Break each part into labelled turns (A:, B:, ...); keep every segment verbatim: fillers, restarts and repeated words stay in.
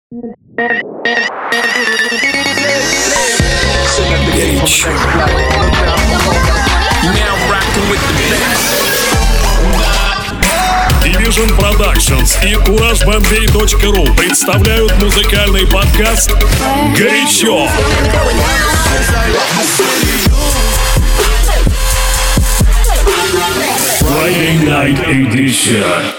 A: Горячо.
B: Division Productions и кураж бомбей точка ру представляют музыкальный подкаст «Горячо». Friday Night Edition.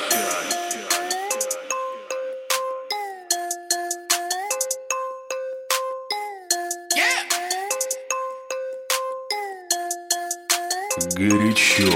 B: Горячо.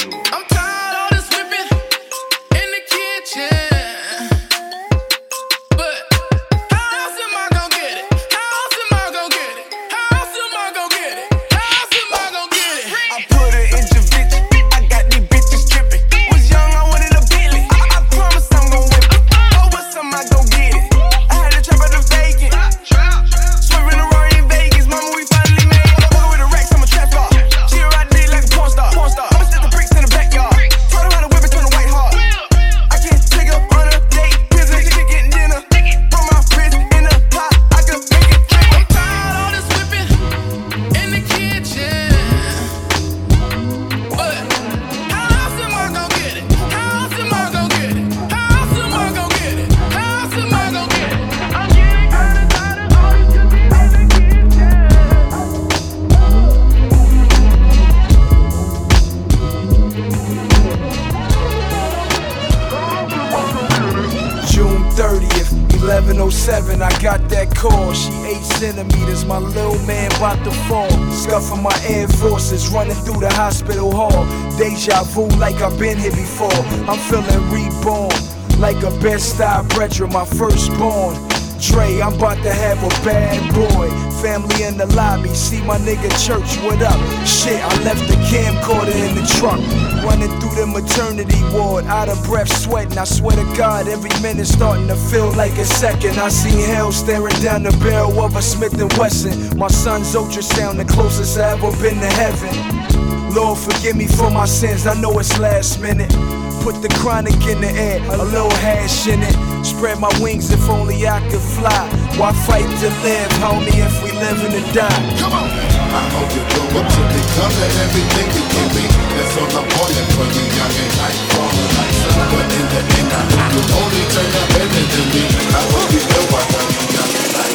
B: eleven oh seven, I got that call. She eight centimeters, my little man about to fall. Scuffing my Air Forces, running through the hospital hall. Deja vu like I've been here before. I'm feeling reborn, like a Bed-Stuy brethren, my firstborn. Dre, I'm about to have a bad boy. Family in the lobby, see my nigga Church, what up? Shit, I left the camcorder in the truck. Running through the maternity ward, out of breath, sweating. I swear to God, every minute starting to feel like a second. I see hell staring down the barrel of a Smith and Wesson. My son's ultrasound, the closest I ever been to heaven. Lord, forgive me for my sins, I know it's last minute. Put the chronic in the air, a little hash in it. Spread my wings if only I could fly. Why fight to live, homie, if we live and die? Come on!
C: I hope you grow up to become everything you can be. That's all I'm wanting for you, young and like falling like sun. But in the end, I hope you only turn up better than me. I hope you know I love you, young and like.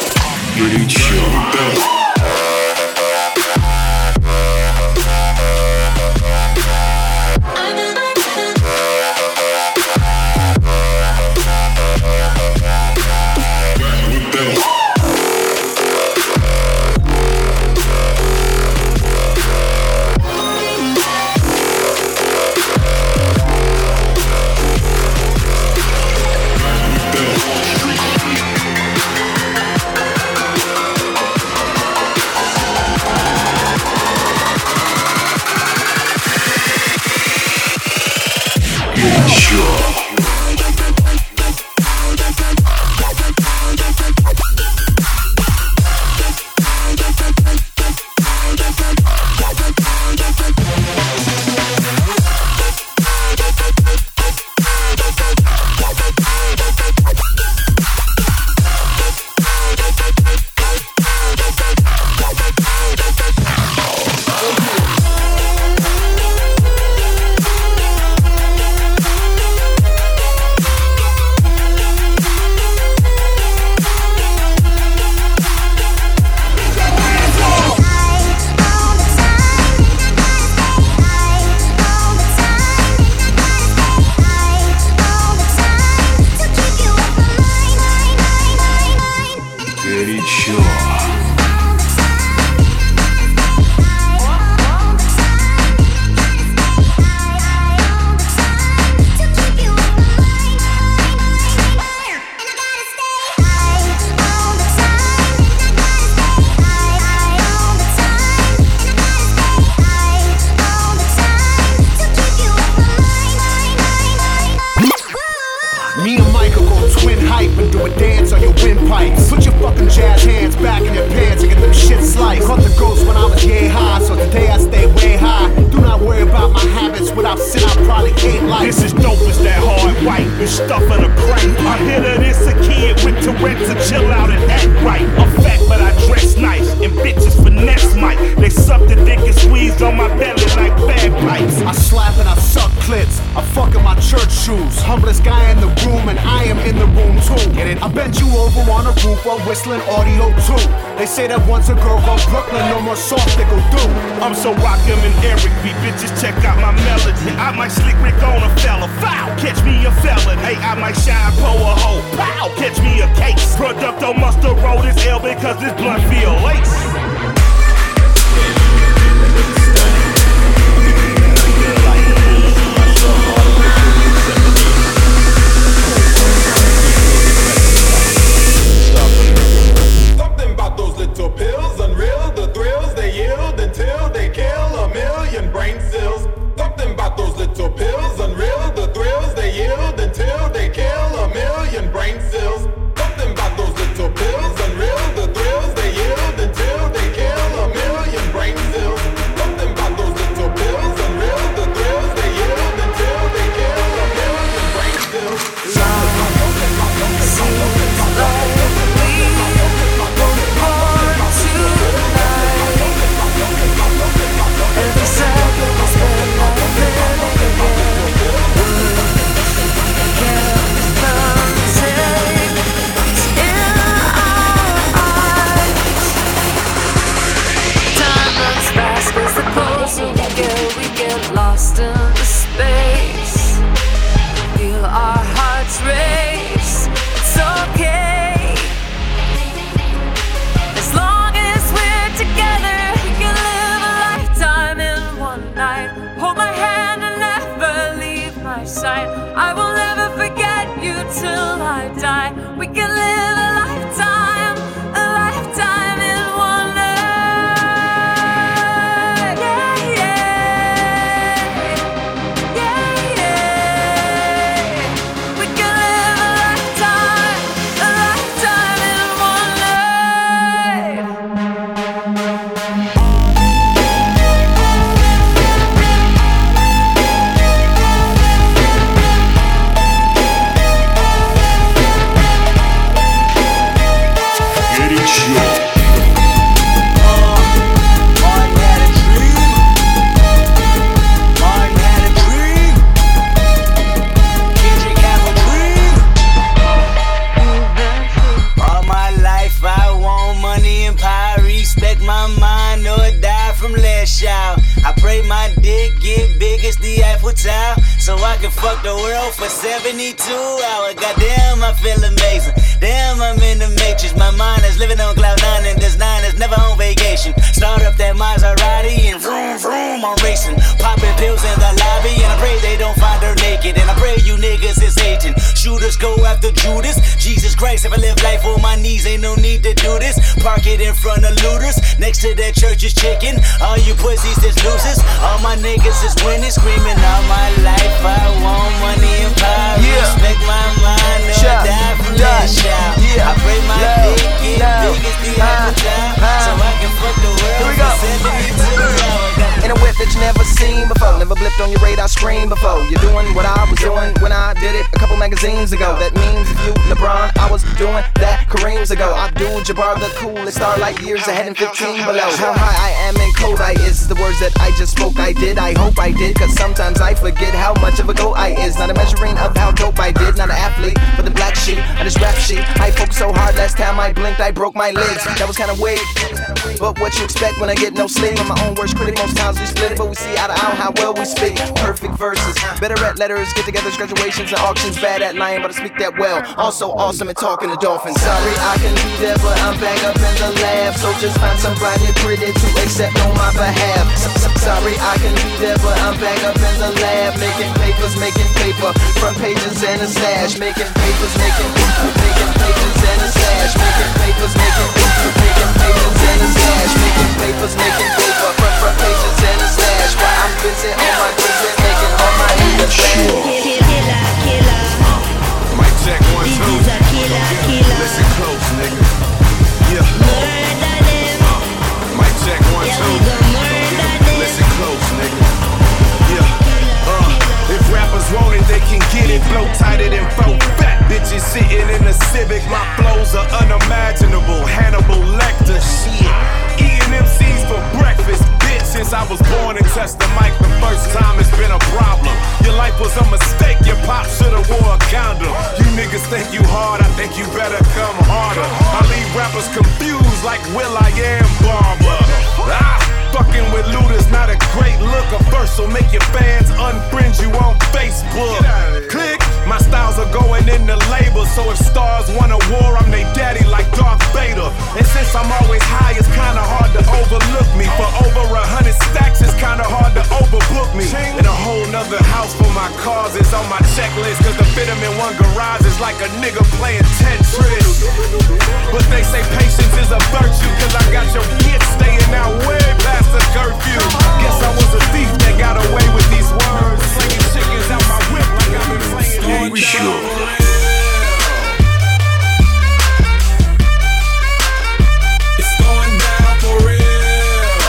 B: Горячо.
D: rent to chill out and act right. I'm fat but I dress nice, and bitches finesse Mike. They suck the dick and squeeze on my belly like bagpipes.
E: I slap and I suck clits, I fuck in my church shoes. Humblest guy in the room and I am in the room too. Get it? I bent you over on a roof while whistling audio too. They say that once a girl from Brooklyn, no more soft they go do.
D: I'm so rockin' and Eric B, bitches check out my melody. I might slick Rick on a fella, foul, catch me a felon. Hey, I might shine po a hoe, pow, catch me a case. Producto must have rolled his L because this blunt feel lace.
C: Something about those little pills, unreal, the thrills they yield until they kill a million brain cells. Something about those little pills, unreal, the thrills they yield until they kill a million brain cells. Something about those little pills, unreal, the thrills they yield until they kill a million brain cells. Something about those little pills, unreal, the thrills they yield until they kill a million brain cells.
F: Lost in the space, feel our hearts race. It's okay, as long as we're together, we can live a lifetime in one night. Hold my hand and never leave my side. I will never forget you till I die. We can live a lifetime, a lifetime in one night.
G: So I can fuck the world for seventy-two hours. Goddamn, I feel amazing. Damn, I'm in the matrix. My mind is living on cloud nine, and this nine is never on vacation. Start up that Maserati and vroom vroom, I'm racing. Popping pills in the lobby, and I pray they don't find her naked. And I pray you niggas is hating. Shooters go after Judas. Jesus Christ, if I live life on my knees, ain't no need to do this. Park it in front of looters. Next to that church is chicken. All you pussies is losers. All my niggas is winning, screaming all my life. I want money and power. Yeah. Respect my mind, or
B: Shot.
G: die from
B: Die.
G: that shout.
B: Yeah.
G: I pray my
B: Low.
G: dick get
B: Low.
G: big as the
B: High.
G: apple time,
B: High.
G: so I can fuck the world
B: Here we
G: for
B: go.
G: seventy-two hours.
B: In a whip that you never seen before, never blipped on your radar screen before. You're doing what I was doing when I did it a couple magazines ago. That means if you LeBron, I was doing that Kareem's ago. I do Jabbar the coolest star like years ahead and fifteen below. How high I am in code I is the words that I just spoke. I did, I hope I did, cause sometimes I forget how much of a goat I is. Not a measuring of how dope I did, not an athlete, but the black sheep of this rap sheet. I focused so hard last time I blinked, I broke my legs. That was kinda weird, but what you expect when I get no sleep? I'm my own worst critic, most times we split it, but we see eye to eye how well we speak. Perfect verses, better at letters, get-togethers, graduations, and auctions. Bad at lying, but I speak that well. Also awesome at talking to dolphins. Sorry I can be there, but I'm back up in the lab. So just find somebody pretty to accept on my behalf. Sorry I can be there, but I'm back up in the lab, making papers, making paper, front pages and a stash, making papers, making making pages and a stash, making papers, making making papers and a stash, making papers, making paper, front front pages and a stash. While I'm busy on my business, making all my niggas
H: Killer, killer.
D: Mic check one,
H: This
D: two.
H: is a killer, killer.
D: Listen close, nigga. Yeah.
H: Murder them.
D: Mic check one,
H: Yeah,
D: two.
H: we gon' murder them.
D: Listen close, nigga. Yeah. Uh, if rappers want it, they can get it. Flow tighter than folk fat.
I: bitches sitting in a Civic. My flows are unimaginable. Hannibal Lecter, shit. Eating M Cs for breakfast, bitch. Since I was born and touched the mic the first time, it's been a problem. Your life was a mistake. Your pop should've wore a condom. You niggas think you hard, I think you better come harder. I leave rappers confused like Will.i.am Barber. Ah, fucking with Luda's not a great look. A verse will make your fans unfriend you on Facebook. Click. My styles are going in the label, so if stars want a war, I'm they daddy like Darth Vader. And since I'm always high, it's kinda hard to overlook me. For over a hundred stacks, it's kinda hard to overbook me. And a whole nother house for my cars is on my checklist, cause to fit them in one garage is like a nigga playing Tetris. But they say patience is a virtue, cause I got your kids staying out way past the curfew. Guess I was a thief that got away with these words, slinging chickens out my whip like I've been playing.
A: We sure.
J: It's going down for real.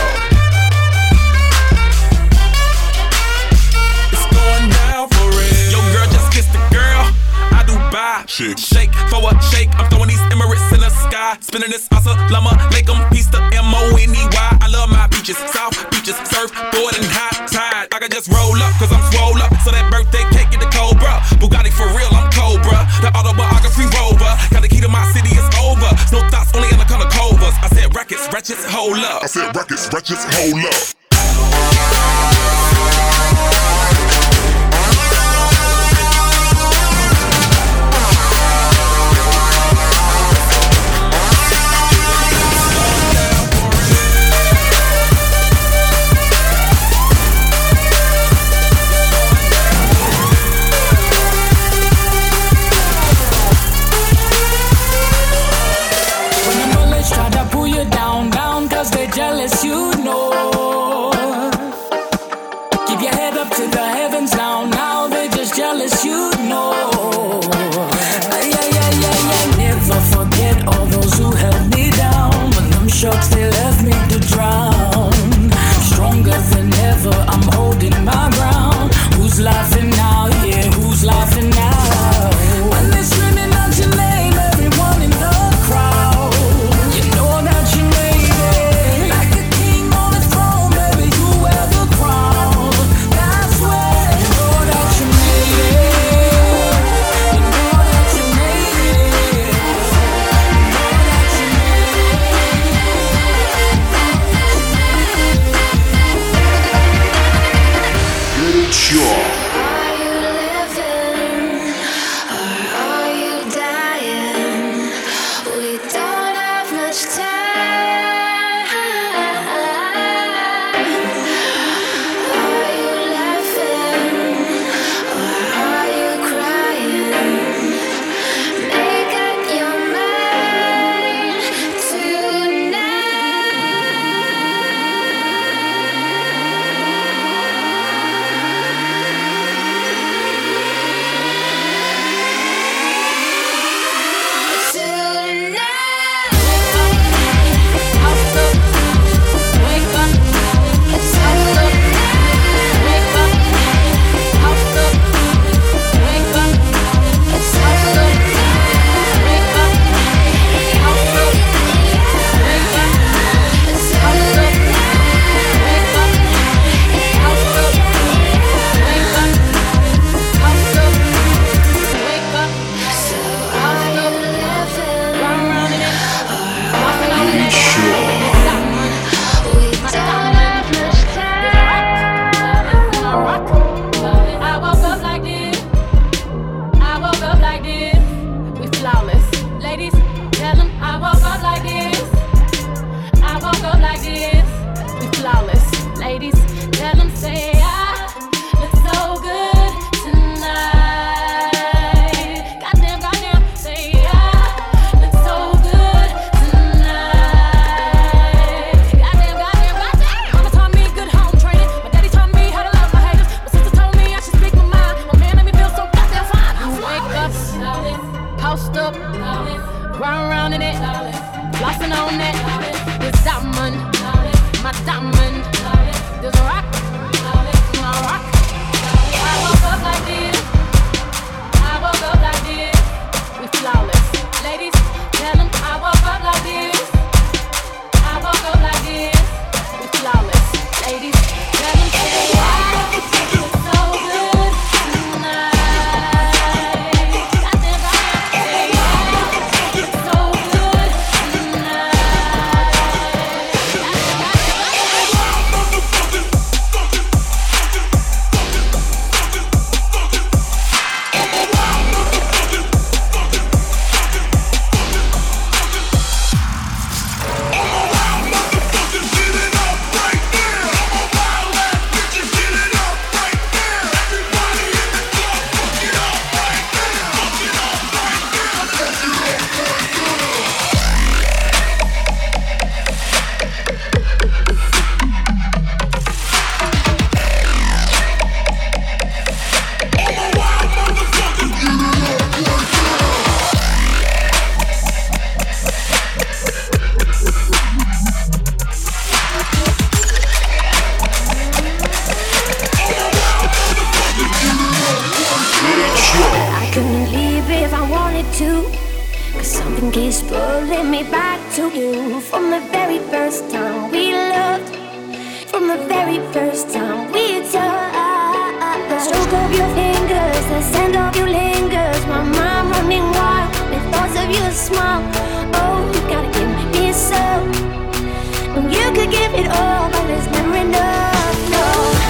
J: It's going down for real. Yo, girl, just kiss the girl. I do buy. Shake, shake for a shake. I'm throwing these Emirates in the sky. Spinning this Asalama, make them piece the M O N E Y. I love my beaches, South beaches, surfboard and high tide. I can just roll up, cause I'm swole up. So that birthday cake get the Cobra. Bugatti for real, I'm Cobra. The autobiography rover. Got the key to my city, it's over. No thoughts, only in the color covers. I said records, wretches, hold up.
K: I said records, wretches, hold up.
L: Jealous, you know. Keep your head up to the heavens now. Now they're just jealous, you know. Ay, ay, ay, ay, ay. Never forget all those who held me down. When them sharks, they left me to drown. Stronger than ever, I'm holding my ground. Who's laughing now? Yeah, who's laughing now? When they're screaming out your name, everyone in the crowd, you know that you made it.
M: and keeps pulling me back to you. From the very first time we loved, from the very first time we touched. The stroke of your fingers, the scent of you lingers. My mind running wild with thoughts of your smile. Oh, you gotta give me some. You could give it all, but there's never enough. No.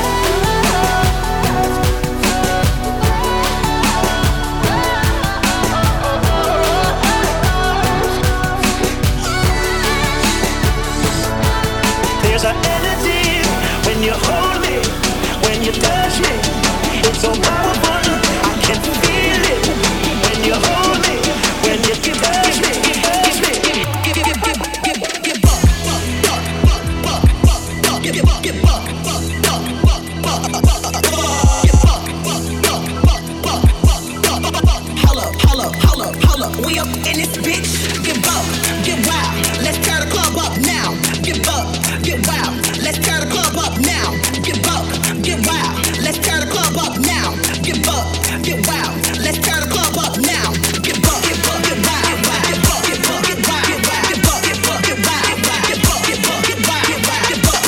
N: There's an energy when you hold me, when you touch me. It's so powerful, I can feel it. When you hold me, when you touch me, touch me. Give, give, give, give, give buck, buck, buck, buck, buck, buck, give, give, give buck, buck, buck, buck, buck, buck, give buck, buck, buck, buck, buck, buck, buck, buck. Holla, holla, holla, holla. We up in this bitch. Give up, get wild. Let's tear the club up now. Give up, get wild. Let's tear the club up now. Give up, get wild. Let's tear the club up now. Give up, get wild. Let's tear the club up now. Give up, get up, get wild. Give up, get up, get wild. Give up, get up, get wild. Give up, get up, get wild. Give up, get wild. Give up, get up.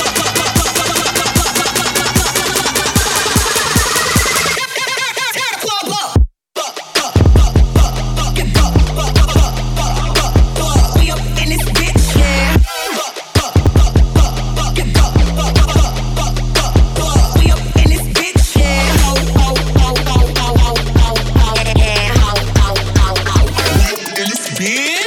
N: Tear the club up. Give up, we up in this bitch, yeah. Give up, we up in this bitch, yeah. In this bitch.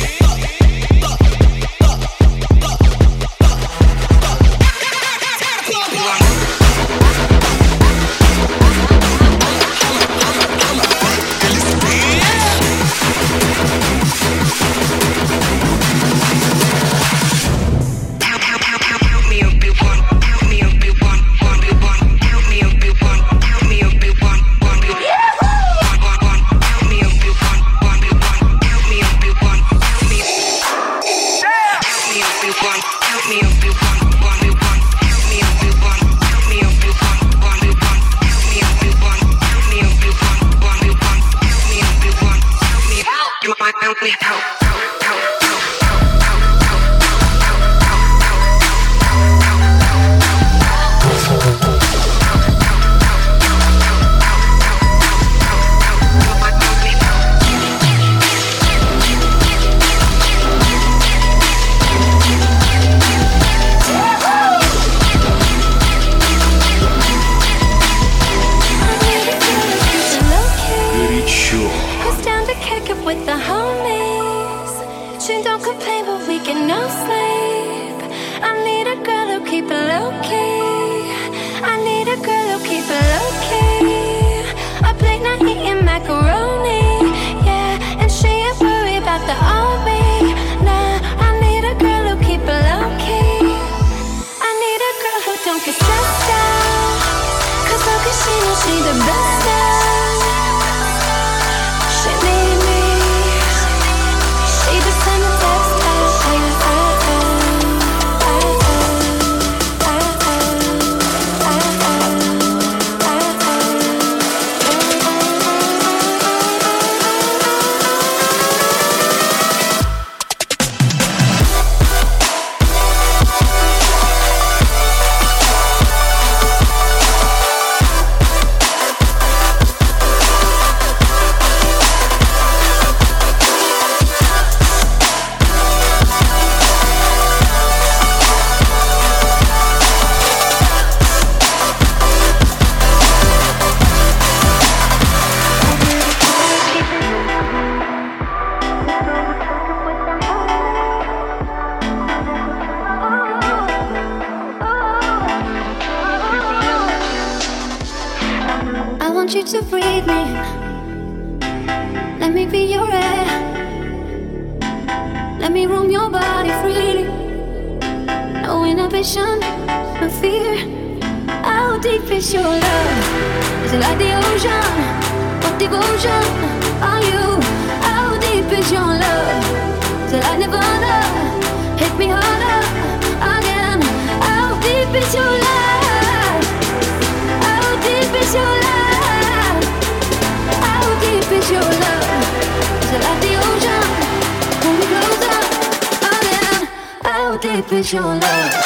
M: To breathe me, let me be your air. Let me roam your body freely. No inhibition, no fear. How deep is your love? Is it like the ocean of devotion? Are you? How deep is your love? Is it like Nirvana? Hit me harder again. How deep is your love? How deep is your love? How deep is your love? Is it like the ocean deep is your love?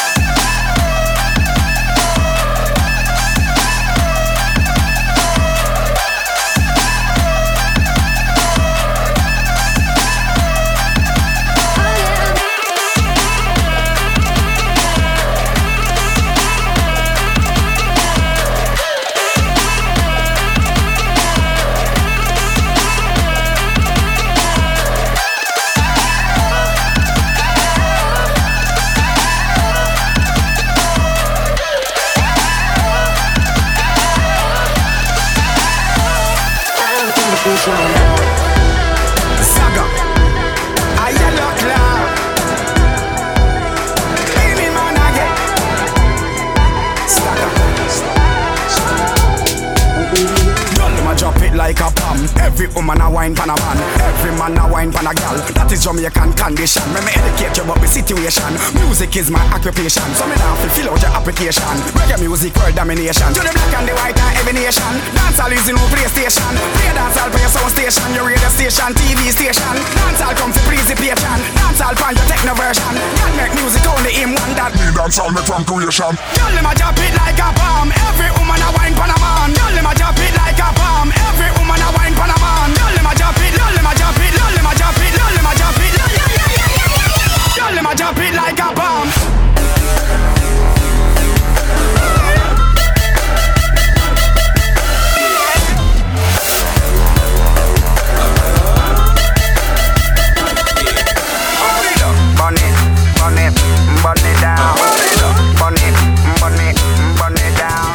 B: Saga, a yellow cloud. Baby man again. Saga. Girl, them a drop it like a bomb. Every woman a wine pan a man. Every man a wine pan a gal. That is Jamaican condition. When me educate you about the situation. Music is my occupation. So me now fill out your application. Reggae music world domination. To the black and the white and every nation. Dancehall is the new PlayStation. Play dancehall for your sound station. Your radio station, T V station. Dancehall come for participation. Dancehall find your techno version. Can't make music only in one that.
K: Me dancehall make from creation.
B: Girl, them a drop it like a bomb. Every woman a wine pan a man. Girl, them a drop it like a bomb. Every woman a wine pan a man. Girl, them a drop it. Girl, them a drop it. Girl, them a drop it. Girl, them a drop it. Girl, them a drop it like a bomb. Burn it, burn it, burn it down. Burn it, burn it, burn it down.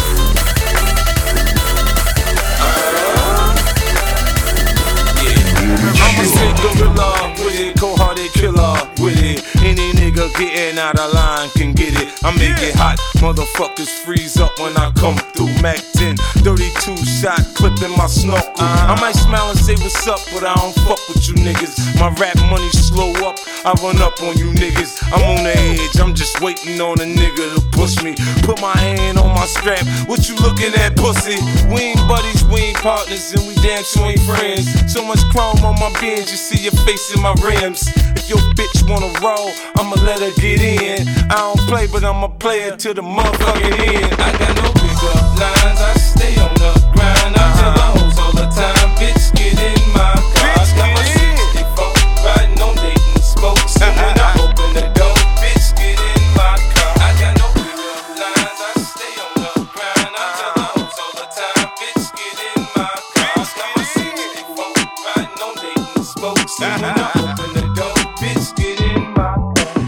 I: I'm a sick gorilla with it, cold-hearted killer with it. Any nigga getting out of line can get it. I make it hot, motherfuckers freeze up when I come through. Mac ten, thirty-two shot, clipping my snorkel. I might smile and say what's up, but I don't fuck with you niggas. My rap money slow up, I run up on you niggas. I'm on the edge, I'm just waiting on a nigga to push me. Put my hand on my strap, what you looking at, pussy? We ain't buddies, we ain't partners, and we damn sure ain't friends. So much chrome on my Benz, you see your face in my rims. If your bitch wanna roll, I'ma let her get in. I don't play, but I'm a player to the motherfucking end. I got no pick up lines, I stay on the grind. I tell the hoes all the time, bitch, get in my car. I got my sixty-four, riding on Dayton spokes. And when I open the door, bitch, get in my car. I got no pick up lines, I stay on the grind. I tell the hoes all the time, bitch, get in my car. I got my sixty-four, riding on Dayton spokes. And when I open the door, bitch, get in my car.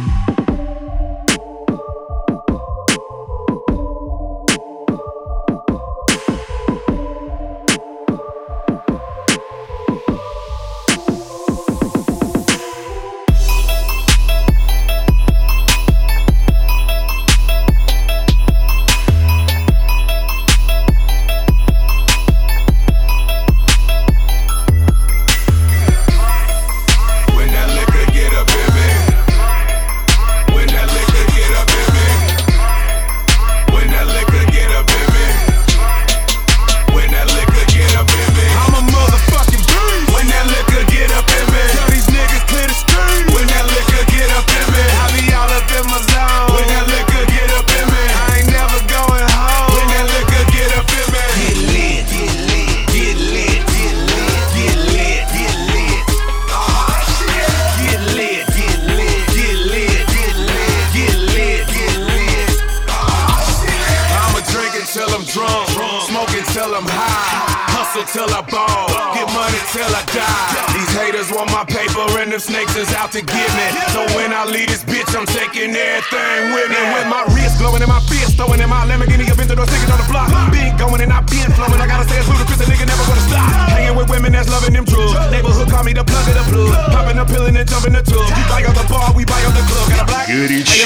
I: Till I ball, get money till I die. These haters want my paper and them snakes is out to get me. So when I leave this bitch, I'm taking everything with me. With my wrist glowing and my fist throwing in my Lamborghini, a Aventador sticking on the block. Been going and I been flowing. I gotta say it's ludicrous, a nigga never gonna stop. Hanging with women that's loving them drugs. Neighborhood call me the plug of the plug. Popping a pill and then jumping the tub. You buy out the bar, we buy out the club. Got a black.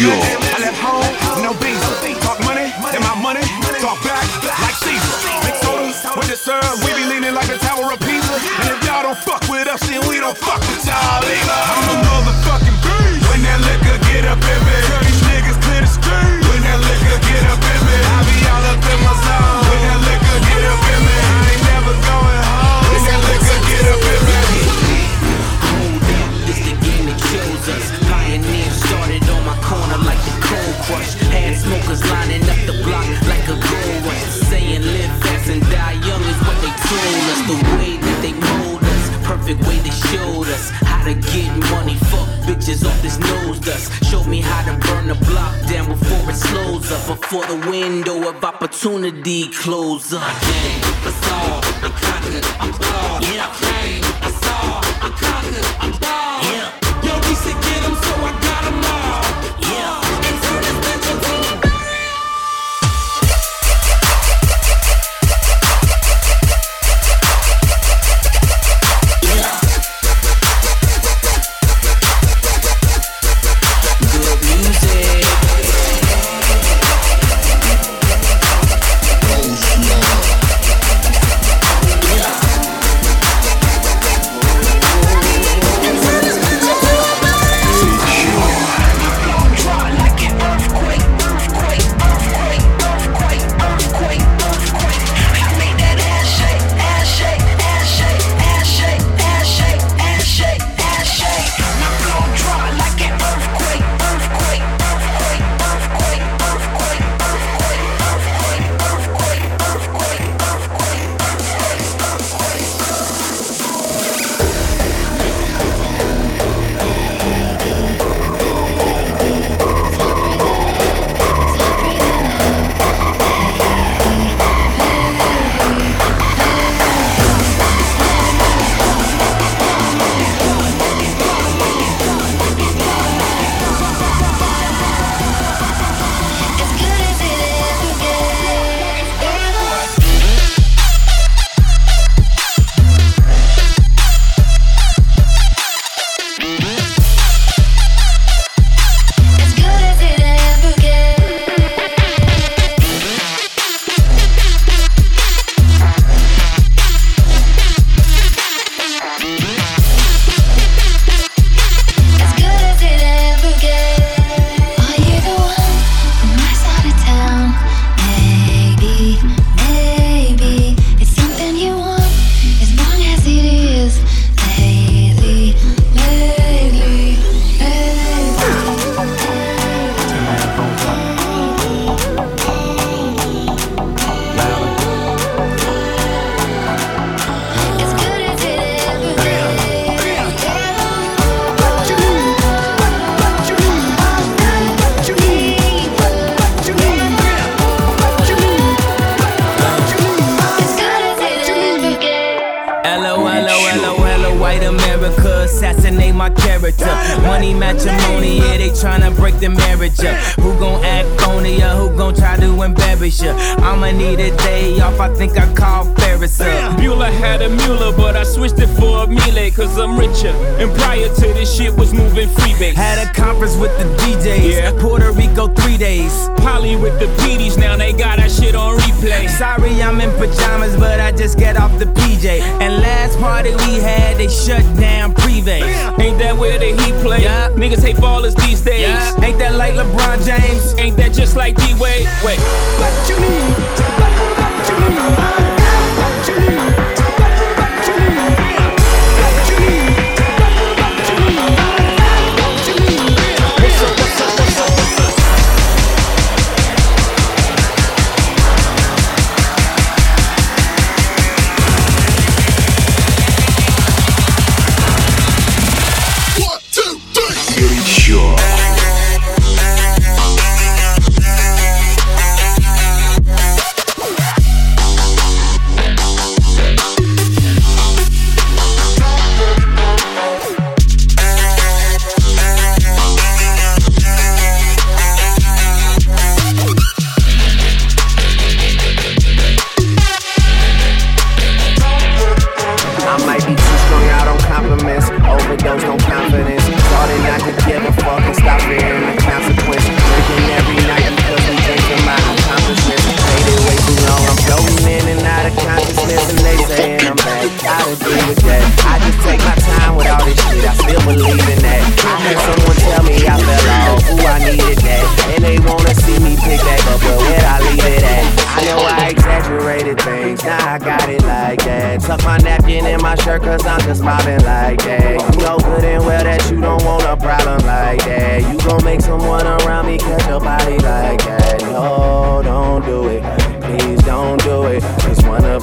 I: I left home, no beans. Talk money, then my money. Talk back like Caesar. Mix soda with the syrup. We be leaning like the Tower of Pisa. And if y'all don't fuck with us, then we don't fuck with y'all either. I'm a motherfucking beast. When that liquor get up in me, tell these niggas clear the street. When that liquor get up in me, I be all up in my zone. When that liquor get up in me, I ain't never going home. When that liquor get up in me.
O: Hold up, this the game that chose us. Pioneer started on my Fuck bitches off this nose dust. Show me how to burn the block down before it slows up. Before the window of opportunity close up. I came, I saw, I conquered, I'm bald. Yeah, I came, I saw, I conquered, I'm bald. Yeah. Yo, we said get 'em, so I got 'em all. Yeah. And turn this bitch into a
P: Money matrimony, yeah, they tryna break the marriage up. Who gon' act on ya? Who gon' try to embarrass ya? I'ma need a day off, I think I call Ferris up.
Q: Bueller had a Mueller, but I switched it for a Miele, cause I'm richer. And prior to this shit was moving freebase.
P: Had a conference with the D Js, yeah. Puerto Rico three days.
Q: Poly with the P Ds, now they got that shit on replay.
P: Sorry I'm in pajamas, but I just get off the P J. And last party we had, they shut down Privé.
Q: Ain't that where the heat play?
P: Yeah.
Q: Niggas hate ballers these days.
P: Yeah. Ain't that like LeBron James?
Q: Ain't that just like D-Wade? Wait.
P: What you need? What you need? What you need?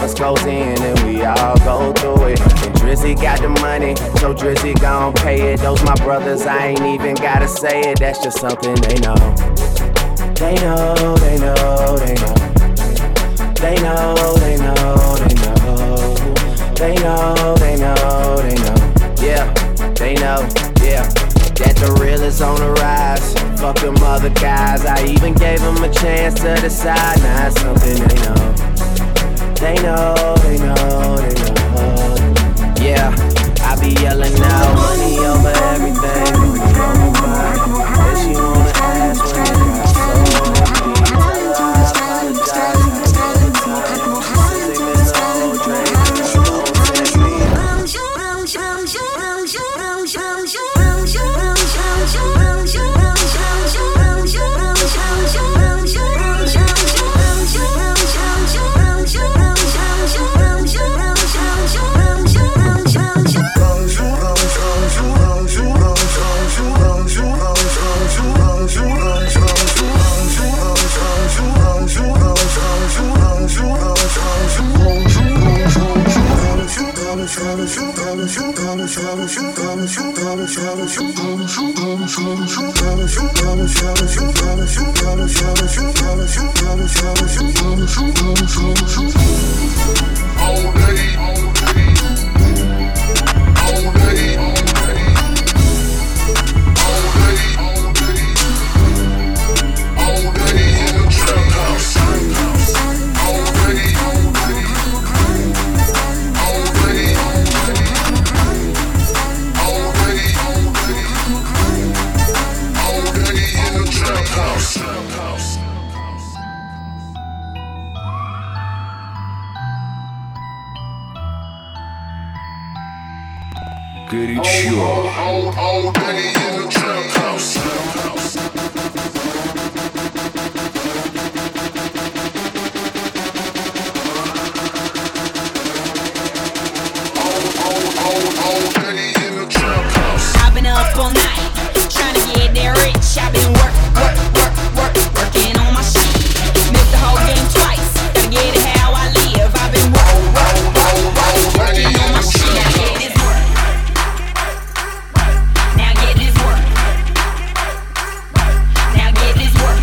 R: Drizzy gon' pay it, those
P: knows my brothers, I ain't even gotta say it, that's just something they know. They know, they know, they know. They know, they know, they know. They know, they know, they know. Yeah, they know, yeah. That the real is on the rise. Fuck them other guys, I even gave them a chance to decide. Now it's something they know. They know, they know, they know. Yeah, I be yelling now, money over everything, money over mine. And she wanna ask when I got so empty. Tell her I apologize, I take the time. Sickness, the whole drink, don't take me.
C: Горячо. All, all day in the trap house.
R: I've been up all night, trying to get that rich. I've been work, work, work, work, working on my shit. Missed the whole game twice, gotta get it how I live. I've been work, work, work, work, working on my shit. Now get this work. Now get this work. Now get this work.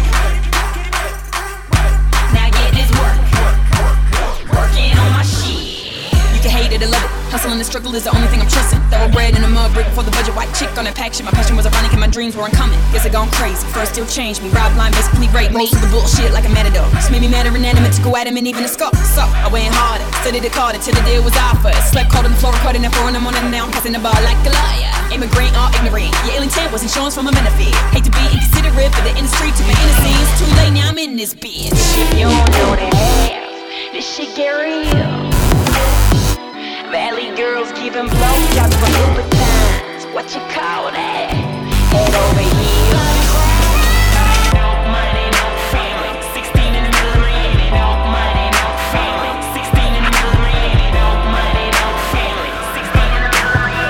R: Now get this work. Working on my shit. You can hate it or love it. Hustle and the struggle is the only thing I'm trusting. Thoroughbred in a mud brick for the budget. White chick on that pack shit. My passion was ironic and my dreams weren't coming. Guess it gone crazy. First still changed me. Rob line basically raped me. Most of the bullshit like a matador. Just made me mad or inanimate to go at him and even a scope. So I went harder. Studied the card till the deal was offered. Slept cold on the floor, recording at four in the morning. Now I'm passing the bar like a liar. Immigrant or ignorant. Your ill intent was insurance from a benefit. Hate to be inconsiderate, but the industry took my innocence. Too late now I'm in this bitch. You don't know the half. This shit get real. Valley girls giving blowjobs for overtimes. What you call that? Head over heels. No money, no family. Sixteen in the middle of Miami. No money, no family. Sixteen in the middle of Miami. No money, no family. Sixteen in the middle of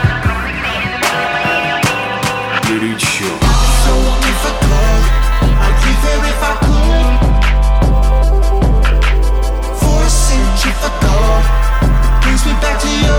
R: Miami.
C: Горячо.
S: So if I could, I'd give her if I could. For a centrifugal brings me back to you.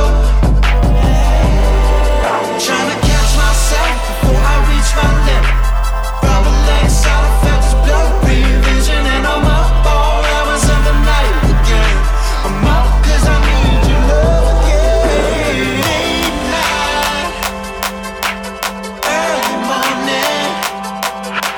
S: Trying to catch myself before I reach my limit. Rubber legs out, I felt this blurry vision. And I'm up all hours of the night again. I'm up cause I need your love again. Late night, early morning,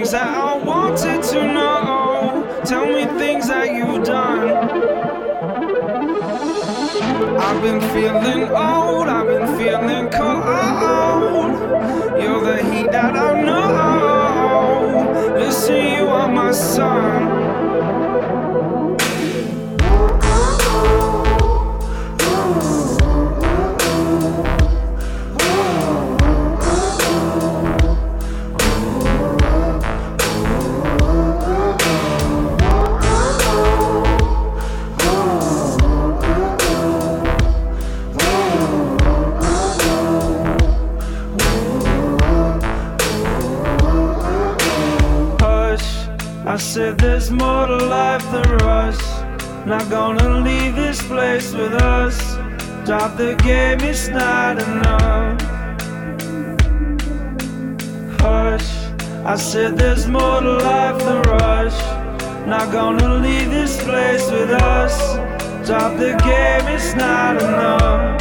B: things that I wanted to know. Tell me things that you've done. I've been feeling old, I've been feeling cold. You're the heat that I know. Listen, you are my sun. I said there's more to life than rush. Not gonna leave this place with us. Drop the game, it's not enough. Hush, I said there's more to life than rush. Not gonna leave this place with us. Drop the game, it's not enough.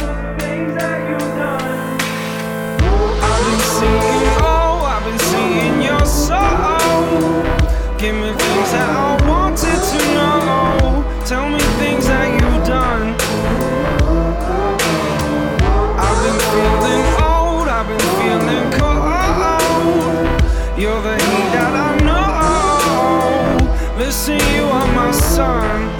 B: I've been seeing, oh, I've been seeing your soul. Give me things that I wanted to know. Tell me things that you've done. I've been feeling old, I've been feeling cold. You're the heat that I know. Listen, you are my sun.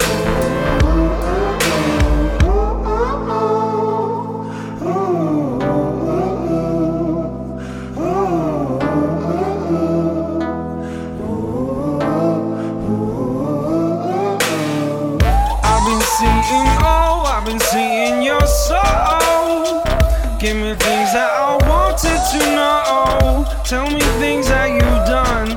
B: I've been seeing your soul. Give me things that I wanted to know. Tell me things that you've done.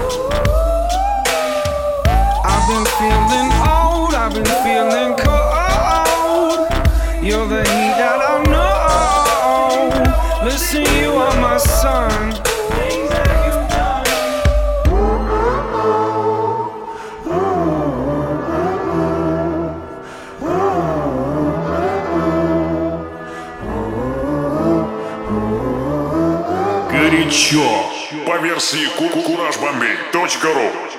B: I've been feeling old, I've been feeling cold. You're the heat that I know. Listen, you are my sun.
K: Горячо. По версии кураж бомбей точка ру.